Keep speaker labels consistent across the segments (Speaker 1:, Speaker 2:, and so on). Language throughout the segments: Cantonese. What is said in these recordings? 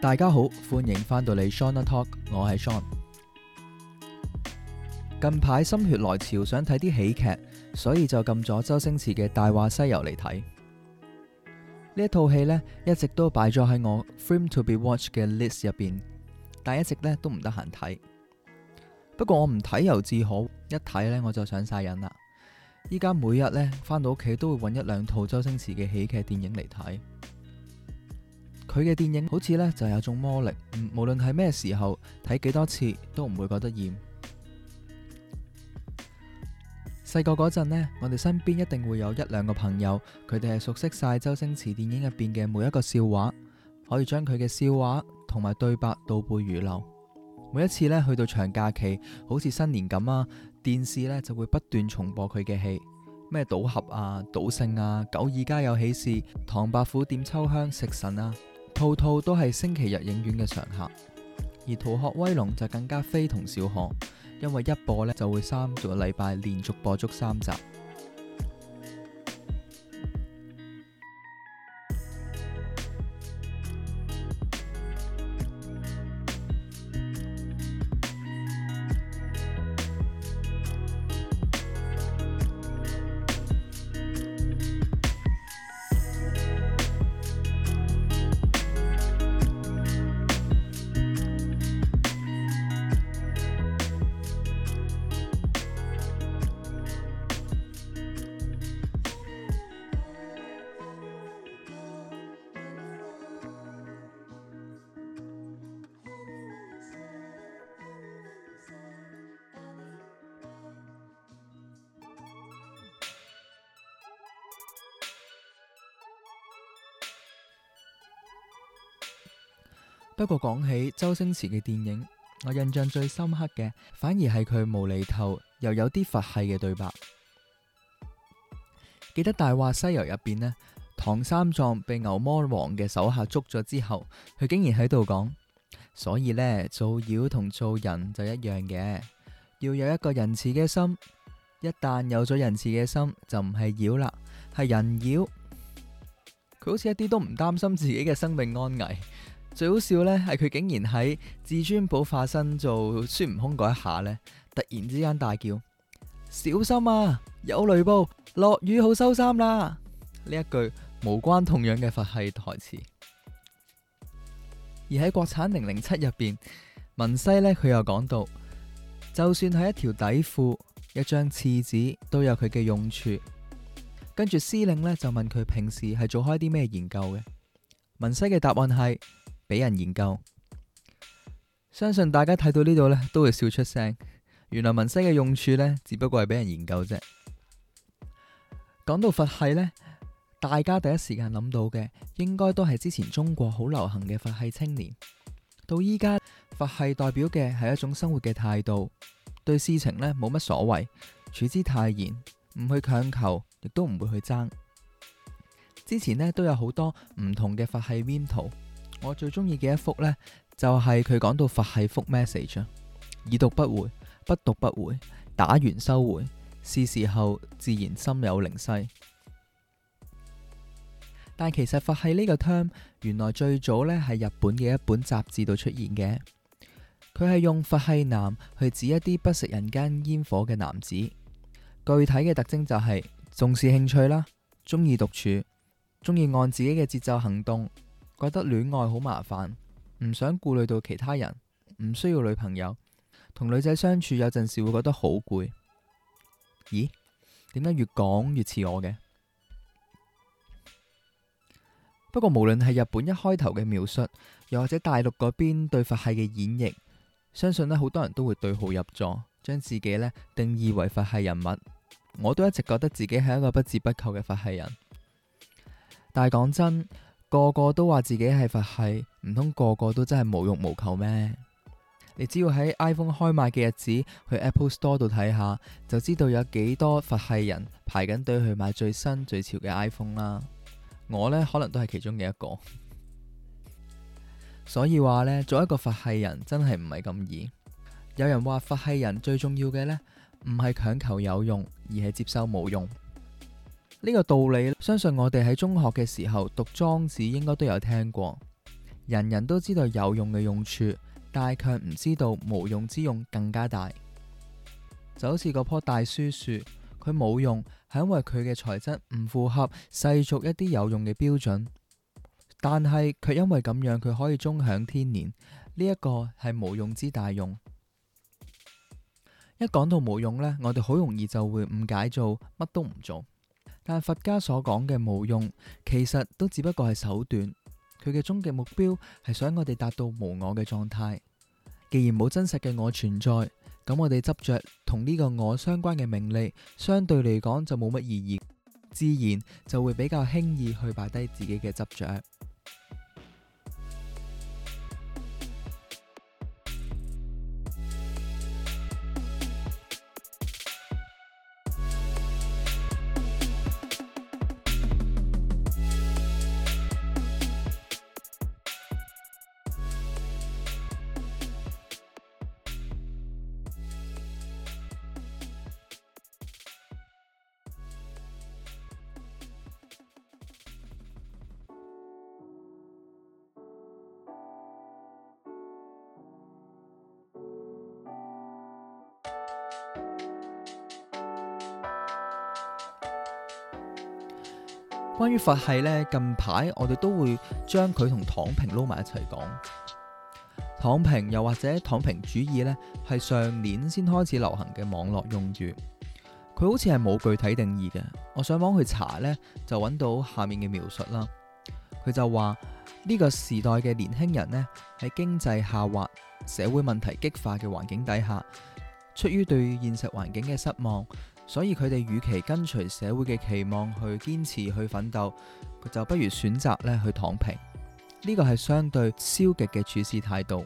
Speaker 1: 大家好，歡迎翻到嚟 Shawn Talk， 我係 Shawn。近排心血來潮想睇啲喜劇，所以就撳咗周星馳嘅《大話西遊》嚟睇。呢一套戲呢，一直都擺咗喺我 Film to be watched 嘅 list 入邊，但一直呢都唔得閒睇。不過我唔睇又自可，一睇呢我就上晒癮啦。依家每日呢翻到屋企都會揾一兩套周星馳嘅喜劇電影嚟睇。佢嘅電影好似呢就有種魔力，無論係咩時候睇幾多次都唔會覺得厭。細個嗰陣呢，我哋身邊一定會有一兩個朋友，佢哋係熟悉晒周星馳電影入邊嘅每一個笑話，可以將佢嘅笑話同埋對白倒背如流。每一次呢去到長假期，好似新年咁啊，電視呢就會不斷重播佢嘅戲，咩賭俠啊、賭聖啊、九二家有喜事、唐伯虎點秋香、食神啊，套套都係星期日影院嘅常客。而逃學威龍就更加非同小可，因為一播呢就會3個禮拜連續播足3集。不過講起周星馳嘅電影，我印象最深刻嘅反而係佢無厘頭又有啲佛系嘅對白。記得《大話西遊》入邊呢，唐三藏被牛魔王嘅手下捉咗之後，佢竟然喺度講，所以呢，做妖同做人就一樣嘅，要有一個仁慈嘅心。一旦有咗仁慈嘅心，就唔係妖啦，係人妖。佢好似一啲都唔擔心自己嘅生命安危。最好笑呢係佢竟然喺至尊寶化身做孫悟空嗰一下呢，突然之間大叫，小心啊，有雷暴，落雨好收衫啦。呢一句無關痛癢嘅佛系台詞。而喺國產007入邊，文西呢，佢又講到，就算係一條底褲、一張廁紙都有佢嘅用處。跟住司令呢，就問佢平時係做開啲咩研究嘅，文西嘅答案係俾人研究。相信大家睇到呢度呢都會笑出聲。原來文西嘅用處呢，只不過係俾人研究啫。講到佛系呢，大家第一時間諗到嘅應該都係之前中國好流行嘅佛系青年。到依家，佛系代表嘅係一種生活嘅態度，對事情呢冇乜所謂，處之泰然，唔去強求，亦都唔會去爭。之前呢都有好多唔同嘅佛系 meme 圖。我最中意嘅一幅呢，就係佢講到佛系覆 message， 已讀不回，不讀不回，打完收回，是時候自然心有靈犀。但其實佛系呢個 term 原來最早呢係日本嘅一本雜誌度出現嘅，佢係用佛系男去指一啲不食人間煙火嘅男子。具體嘅特徵就係重視興趣啦，中意獨處，中意按自己嘅節奏行動。覺得戀愛好麻煩，唔想顧慮到其他人，唔需要女朋友，同女仔相處有陣時會覺得好攰。咦？點解越講越似我嘅？不過無論係日本一開頭嘅描述，又或者大陸嗰邊對佛系嘅演繹，相信呢好多人都會對號入座，將自己呢定義為佛系人物。我都一直覺得自己係一個不折不扣嘅佛系人，但係講真，個個都話自己係佛系，唔通個個都真係無欲無求咩？你只要喺 iPhone 開賣嘅日子去 Apple Store 度睇下，就知道有幾多佛系人排緊隊去買最新最潮嘅 iPhone 啦。我呢，可能都係其中嘅一個。所以話呢，做一個佛系人真係唔係咁易。有人話佛系人最重要嘅呢，唔係強求有用，而係接受冇用。呢個道理，相信我哋喺中學嘅時候讀莊子應該都有聽過。 人人都知道有用嘅用處，但係卻唔知道無用之用更加大。就好似嗰棵大書樹，佢冇用係因為佢嘅材質唔符合世俗一啲有用嘅標準，但係卻因為咁樣佢可以終享天年。呢一個係無用之大用。一講到無用呢，我哋好容易就會誤解做乜都唔做。但佛家所講嘅無用，其實都只不過係手段，佢嘅終極目標係想我哋達到無我嘅狀態。既然冇真實嘅我存在，咁我哋執着同呢個我相關嘅名利，相對嚟講就冇乜意義，自然就會比較輕易去擺低自己嘅執着。關於佛系呢，近排我哋都會將佢同躺平撈埋一齊講。躺平又或者躺平主義呢，係上年先開始流行嘅網絡用語，佢好似係冇具體定義嘅。我上網去查呢，就揾到下面嘅描述啦。佢就話呢個時代嘅年輕人呢，喺經濟下滑、社會問題激化嘅環境底下，出於對現實環境嘅失望，所以佢哋與其跟隨社會嘅期望去堅持去奮鬥，佢就不如選擇咧去躺平。呢個係相對消極嘅處事態度。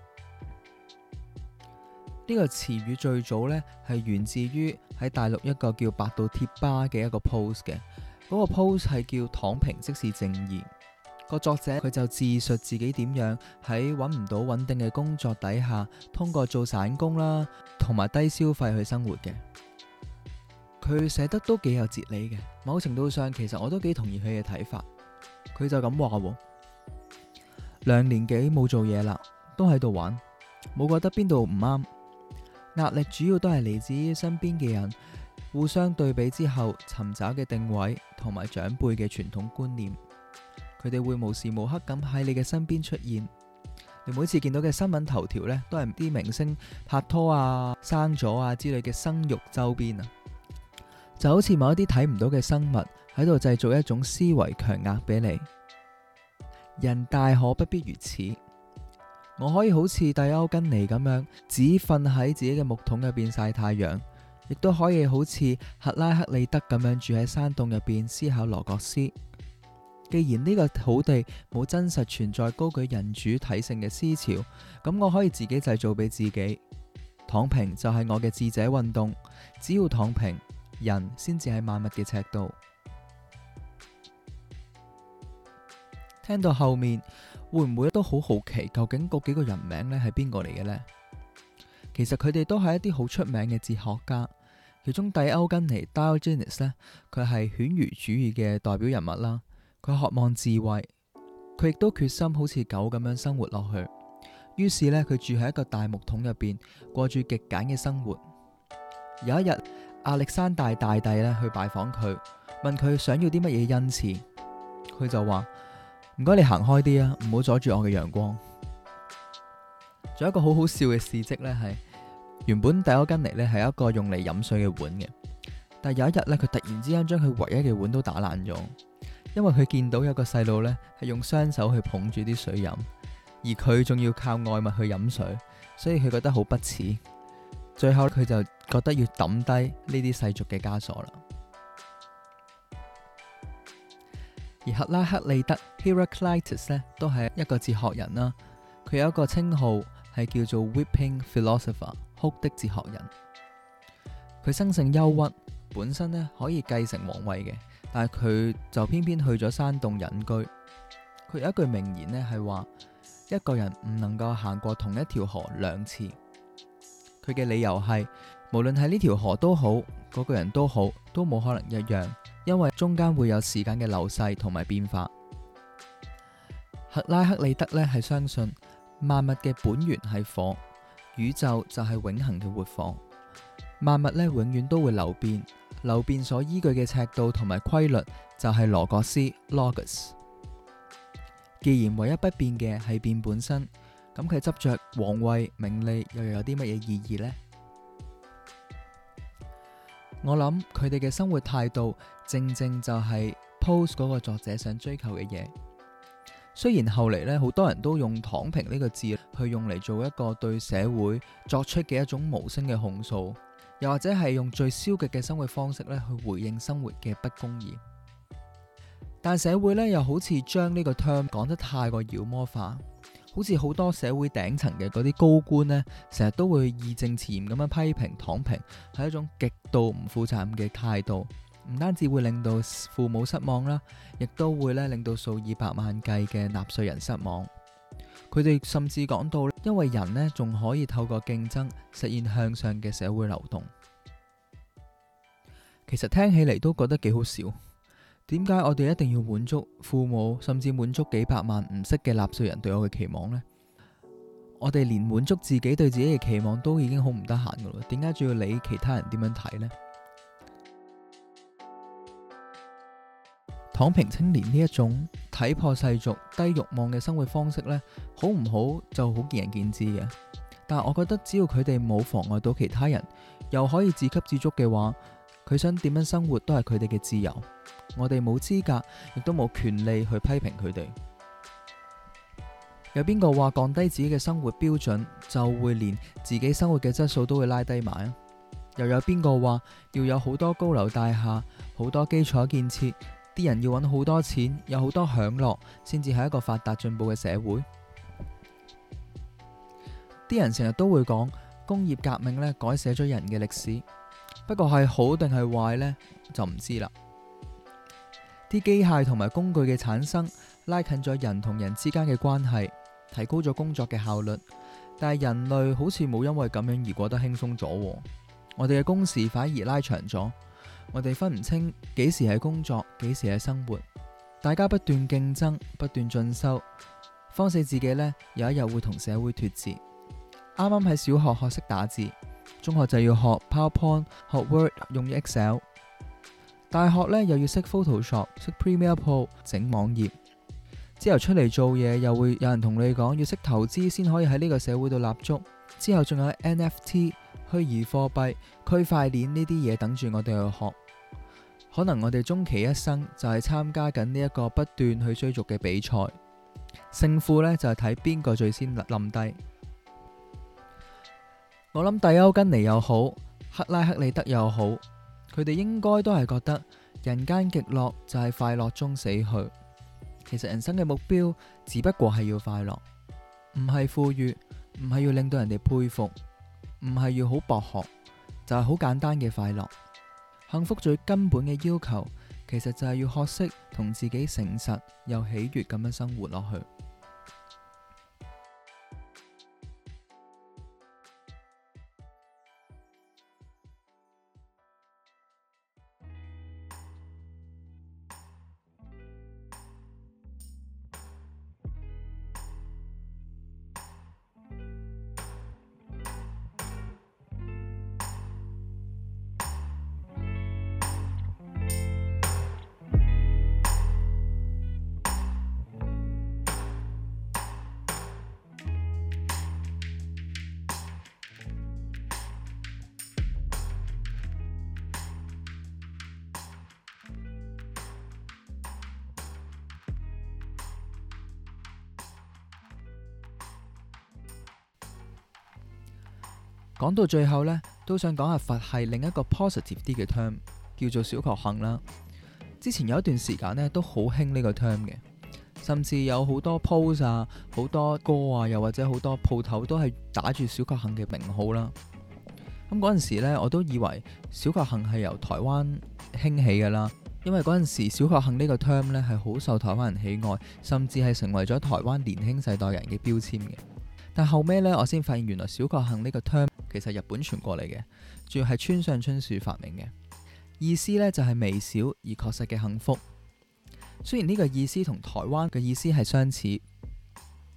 Speaker 1: 呢個詞語最早咧係源自於喺大陸一個叫百度貼吧嘅一個 post 嘅，嗰個 post 係叫躺平即是正義。個作者佢就自述自己點樣喺揾唔到穩定嘅工作底下，通過做散工啦，同埋低消費去生活嘅。佢寫得都幾有哲理嘅，某程度上其實我都幾同意佢嘅睇法。佢就咁話喎：2年幾冇做嘢啦，都喺度玩，冇覺得邊度唔啱。壓力主要都係嚟自於身邊嘅人互相對比之後尋找嘅定位同埋長輩嘅傳統觀念。佢哋會無時無刻咁喺你嘅身邊出現，你每次見到嘅新聞頭條呢，都係啲明星拍拖啊、生咗啊之類嘅生育周邊啊，就好似某一啲睇唔到嘅生物喺度製造一種思維強壓俾你。人大可不必如此，我可以好似蒂歐根尼咁樣，只瞓喺自己嘅木桶入邊曬太陽，亦都可以好似赫拉克利德咁樣住喺山洞入邊思考羅格斯。既然呢個土地冇真實存在高舉人主體性嘅思潮，咁我可以自己製造俾自己。躺平就係我嘅智者運動，只要躺平，人先至係萬物嘅尺度。聽到後面，會唔會都好好奇，究竟嗰幾個人名咧係邊個嚟嘅呢？其實佢哋都係一啲好出名嘅哲學家，其中蒂歐根尼 Diogenes 咧，佢係犬儒主義嘅代表人物啦。佢渴望智慧，佢亦都決心好似狗咁樣生活落去。於是呢，佢住喺一個大木桶入邊，過住極簡嘅生活。有一日，亞歷山大大帝咧去拜訪佢，問佢想要啲乜嘢恩賜。佢就話：唔該，你行開啲啊，唔好阻住我嘅陽光。仲有一個好好笑嘅事蹟呢，係原本蒂歐根尼呢係一個用嚟飲水嘅碗嘅，但有一日呢，佢突然之間將佢唯一嘅碗都打爛咗。因為佢見到有個細路呢係用雙手去捧住啲水飲，而佢仲要靠外物去飲水，所以佢覺得好不齒。最後佢就覺得要抌低呢啲世俗嘅枷鎖啦。而赫拉克利德 Heraclitus 呢都係一個哲學人啦，佢有一個稱號係叫做 Weeping Philosopher， 哭的哲學人。佢生性憂鬱，本身呢可以繼承皇位嘅。但係佢就偏偏去咗山洞隱居。佢有一句名言呢係話：一個人唔能夠行過同一條河2次。佢嘅理由係，無論係呢條河都好，嗰個人都好，都冇可能一樣，因為中間會有時間嘅流逝同埋變化。 赫拉克利德呢係相信萬物嘅本源係火，宇宙就係永恆嘅活火。萬物呢永遠都會流變，流變所依據嘅尺度同埋規律就係羅格斯 Logos。既然唯一不變嘅係變本身，咁佢執着皇位名利又有啲乜嘢意義呢？我諗佢哋嘅生活態度正正就係 Pose 嗰個作者想追求嘅嘢。雖然後嚟呢，好多人都用躺平呢個字去用嚟做一個對社會作出嘅一種無聲嘅控訴，又或者係用最消極嘅生活方式呢去回應生活嘅不公義。但社會呢，又好似將呢個 term 講得太過妖魔化，好似好多社會頂層嘅嗰啲高官呢，成日都會義正辭嚴咁樣批評躺平係一種極度唔負責任嘅態度，唔單止會令到父母失望啦，亦都會咧令到數以百萬計嘅納稅人失望。佢哋甚至講到，因為人呢仲可以透過競爭實現向上嘅社會流動。其實聽起嚟都覺得幾好笑。點解我哋一定要滿足父母，甚至滿足幾百萬唔識嘅納稅人對我嘅期望呢？我哋連滿足自己對自己嘅期望都已經好唔得閒噶啦，點解仲要理其他人點樣睇呢？躺平青年呢一種睇破世俗、低慾望嘅生活方式呢，好唔好就好見仁見智嘅。但係我覺得只要佢哋冇妨礙到其他人，又可以自給自足嘅話，佢想點樣生活都係佢哋嘅自由。我哋冇資格，亦都冇權利去批評佢哋。有邊個話降低自己嘅生活標準就會連自己生活嘅質素都會拉低埋啊？又有邊個話要有好多高樓大廈、好多基礎建設，啲人要揾好多錢，有好多享樂，先至係一個發達進步嘅社會？啲人成日都會講工業革命呢改寫咗人嘅歷史，不過係好定係壞呢，就唔知啦。啲機械同埋工具嘅產生，拉近咗人同人之間嘅關係，提高咗工作嘅效率。但係人類好似冇因為咁樣而過得輕鬆咗，我哋嘅工時反而拉長咗。我哋分唔清幾時係工作，幾時係生活。大家不斷競爭，不斷進修，慌死自己呢，有一日會同社會脫節。啱啱喺小學學識打字，中學就要學 PowerPoint、學 Word、用 Excel。大學呢又要識 Photoshop、識 Premiere Pro 整網頁，之後出嚟做嘢又會有人同你講要識投資先可以喺呢個社會度立足，之後仲有 NFT、虛擬貨幣、區塊鏈呢啲嘢等住我哋去學。可能我哋終其一生就係參加緊呢一個不斷去追逐嘅比賽，勝負呢就係睇邊個最先冧低。我諗蒂歐根尼又好，赫拉克利德又好，佢哋應該都係覺得人間極樂就係快樂中死去。其實人生嘅目標只不過係要快樂，唔係富裕，唔係要令到人哋佩服，唔係要好博學，就係好簡單嘅快樂。幸福最根本嘅要求，其實就係要學識同自己誠實又喜悅咁樣生活落去。講到最後呢，都想講下佛系另一個 positive 啲嘅 term， 叫做小確幸啦。之前有一段時間呢，都好興呢個 term 嘅，甚至有好多 post 啊、好多歌啊，又或者好多鋪頭都係打住小確幸嘅名號啦。咁嗰陣時呢，我都以為小確幸係由台灣興起嘅啦，因為嗰陣時小確幸呢個 term 呢係好受台灣人喜愛，甚至係成為咗台灣年輕世代人嘅標籤嘅。但後尾呢，我先發現原來小確幸呢個 term 其實日本傳過嚟嘅，主要係村上春樹發明嘅，意思呢就係微小而確實嘅幸福。雖然呢個意思同台灣嘅意思係相似，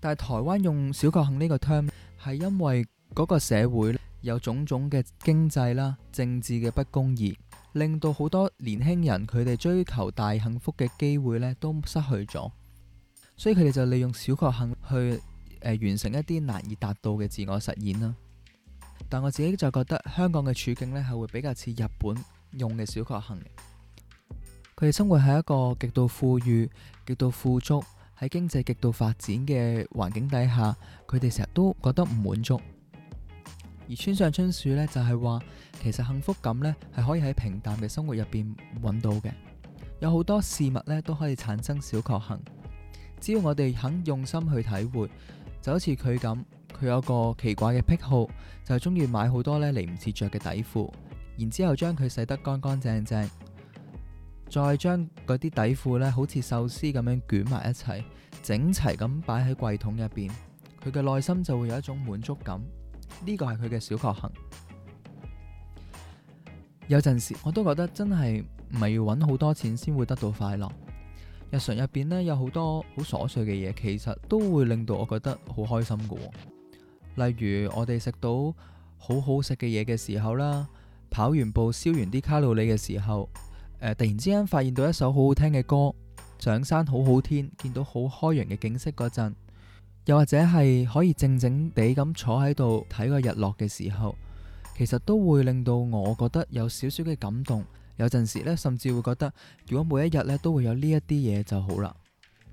Speaker 1: 但係台灣用小確幸呢個 term 係因為嗰個社會有種種嘅經濟啦、政治嘅不公義，令到好多年輕人佢哋追求大幸福嘅機會呢都失去咗，所以佢哋就利用小確幸去完成一啲難以達到嘅自我實現啦。但我自己就覺得香港嘅處境呢係會比較似日本用嘅小確幸嘅。佢哋生活喺一個極度富裕、極度富足、喺經濟極度發展嘅環境底下，佢哋成日都覺得唔滿足。而村上春樹呢，就係話，其實幸福感呢係可以喺平淡嘅生活入邊揾到嘅。有好多事物呢都可以產生小確幸，只要我哋肯用心去體會。就好似佢咁，佢有個奇怪嘅癖好，就係中意買好多呢嚟唔切着嘅底褲，然之後將佢洗得乾乾淨淨，再將嗰啲底褲呢好似壽司咁樣捲埋一齊，整齊咁擺喺櫃桶入邊，佢嘅內心就會有一種滿足感。呢個係佢嘅小確幸。有陣時我都覺得真係唔係要揾好多錢先會得到快樂。日常入邊呢，有好多好瑣碎嘅嘢，其實都會令到我覺得好開心㗎喎。例如我哋食到好好食嘅嘢嘅時候啦，跑完步燒完啲卡路里嘅時候，突然之間發現到一首好好聽嘅歌，上山好好天，見到好開揚嘅景色嗰陣，又或者係可以靜靜地咁坐喺度睇個日落嘅時候，其實都會令到我覺得有少少嘅感動。有陣時呢，甚至會覺得如果每一日呢都會有呢一啲嘢就好啦。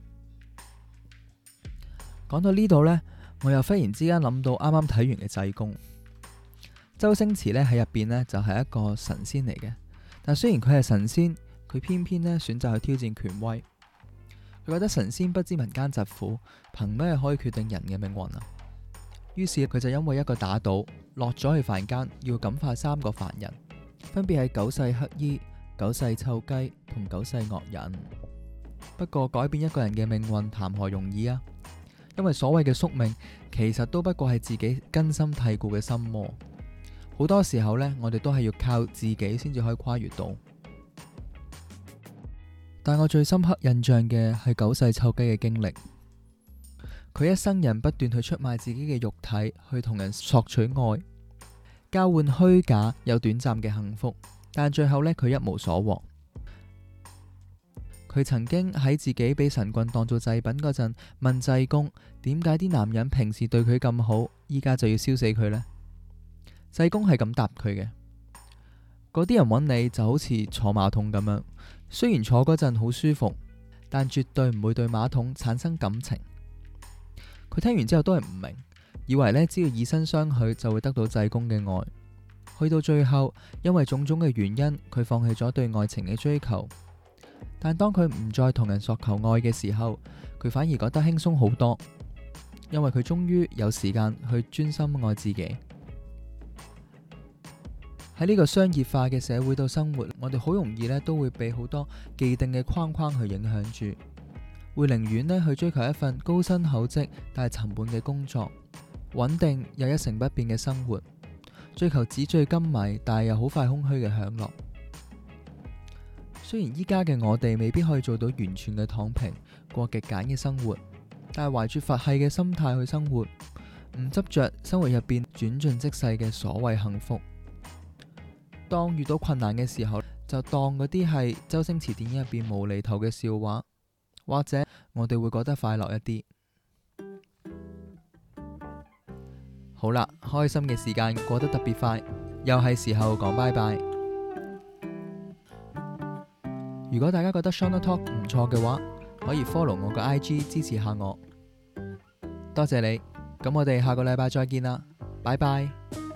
Speaker 1: 講到呢度呢，我又忽然之間諗到啱啱睇完嘅濟公。周星馳呢喺入邊呢就係一個神仙嚟嘅，但雖然佢係神仙，佢偏偏呢選擇去挑戰權威。佢覺得神仙不知民間疾苦，憑咩可以決定人嘅命運啊？於是佢就因為一個打賭，落咗去凡間，要感化3個凡人。分別係九世乞衣、九世臭雞同九世惡人。不過改變一個人嘅命運談何容易啊？因為所謂嘅宿命，其實都不過係自己根深蒂固嘅心魔。好多時候呢，我哋都係要靠自己先至可以跨越到。但我最深刻印象嘅係九世臭雞嘅經歷。佢一生人不斷去出賣自己嘅肉體，去同人索取愛，交換虛假有短暫嘅幸福，但最後呢，佢一無所獲。佢曾經喺自己俾神棍當做祭品嗰陣，問濟公點解啲男人平時對佢咁好，依家就要燒死佢呢？濟公係咁答佢嘅：嗰啲人揾你就好似坐馬桶咁樣，雖然坐嗰陣好舒服，但絕對唔會對馬桶產生感情。佢聽完之後都係唔明，以為呢，只要以身相許就會得到濟公嘅愛。去到最後，因為種種嘅原因，佢放棄咗對愛情嘅追求。但當佢唔再同人索求愛嘅時候，佢反而覺得輕鬆好多，因為佢終於有時間去專心愛自己。喺呢個商業化嘅社會度生活，我哋好容易呢都會被好多既定嘅框框去影響住，會寧願呢去追求一份高薪厚職但係沉悶嘅工作，穩定又一成不變嘅生活，追求紙醉金迷但係又好快空虛嘅享樂。雖然依家嘅我哋未必可以做到完全嘅躺平，過極簡嘅生活，但係懷住佛系嘅心態去生活，唔執着生活入邊轉瞬即逝嘅所謂幸福。當遇到困難嘅時候，就當嗰啲係周星馳電影入邊無厘頭嘅笑話，或者我哋會覺得快樂一啲。好啦，開心嘅時間過得特別快，又係時候講拜拜。如果大家覺得 Shonda Talk 唔錯嘅話，可以 follow 我個 IG 支持下我，多謝你。咁我哋下個禮拜再見啦，拜拜。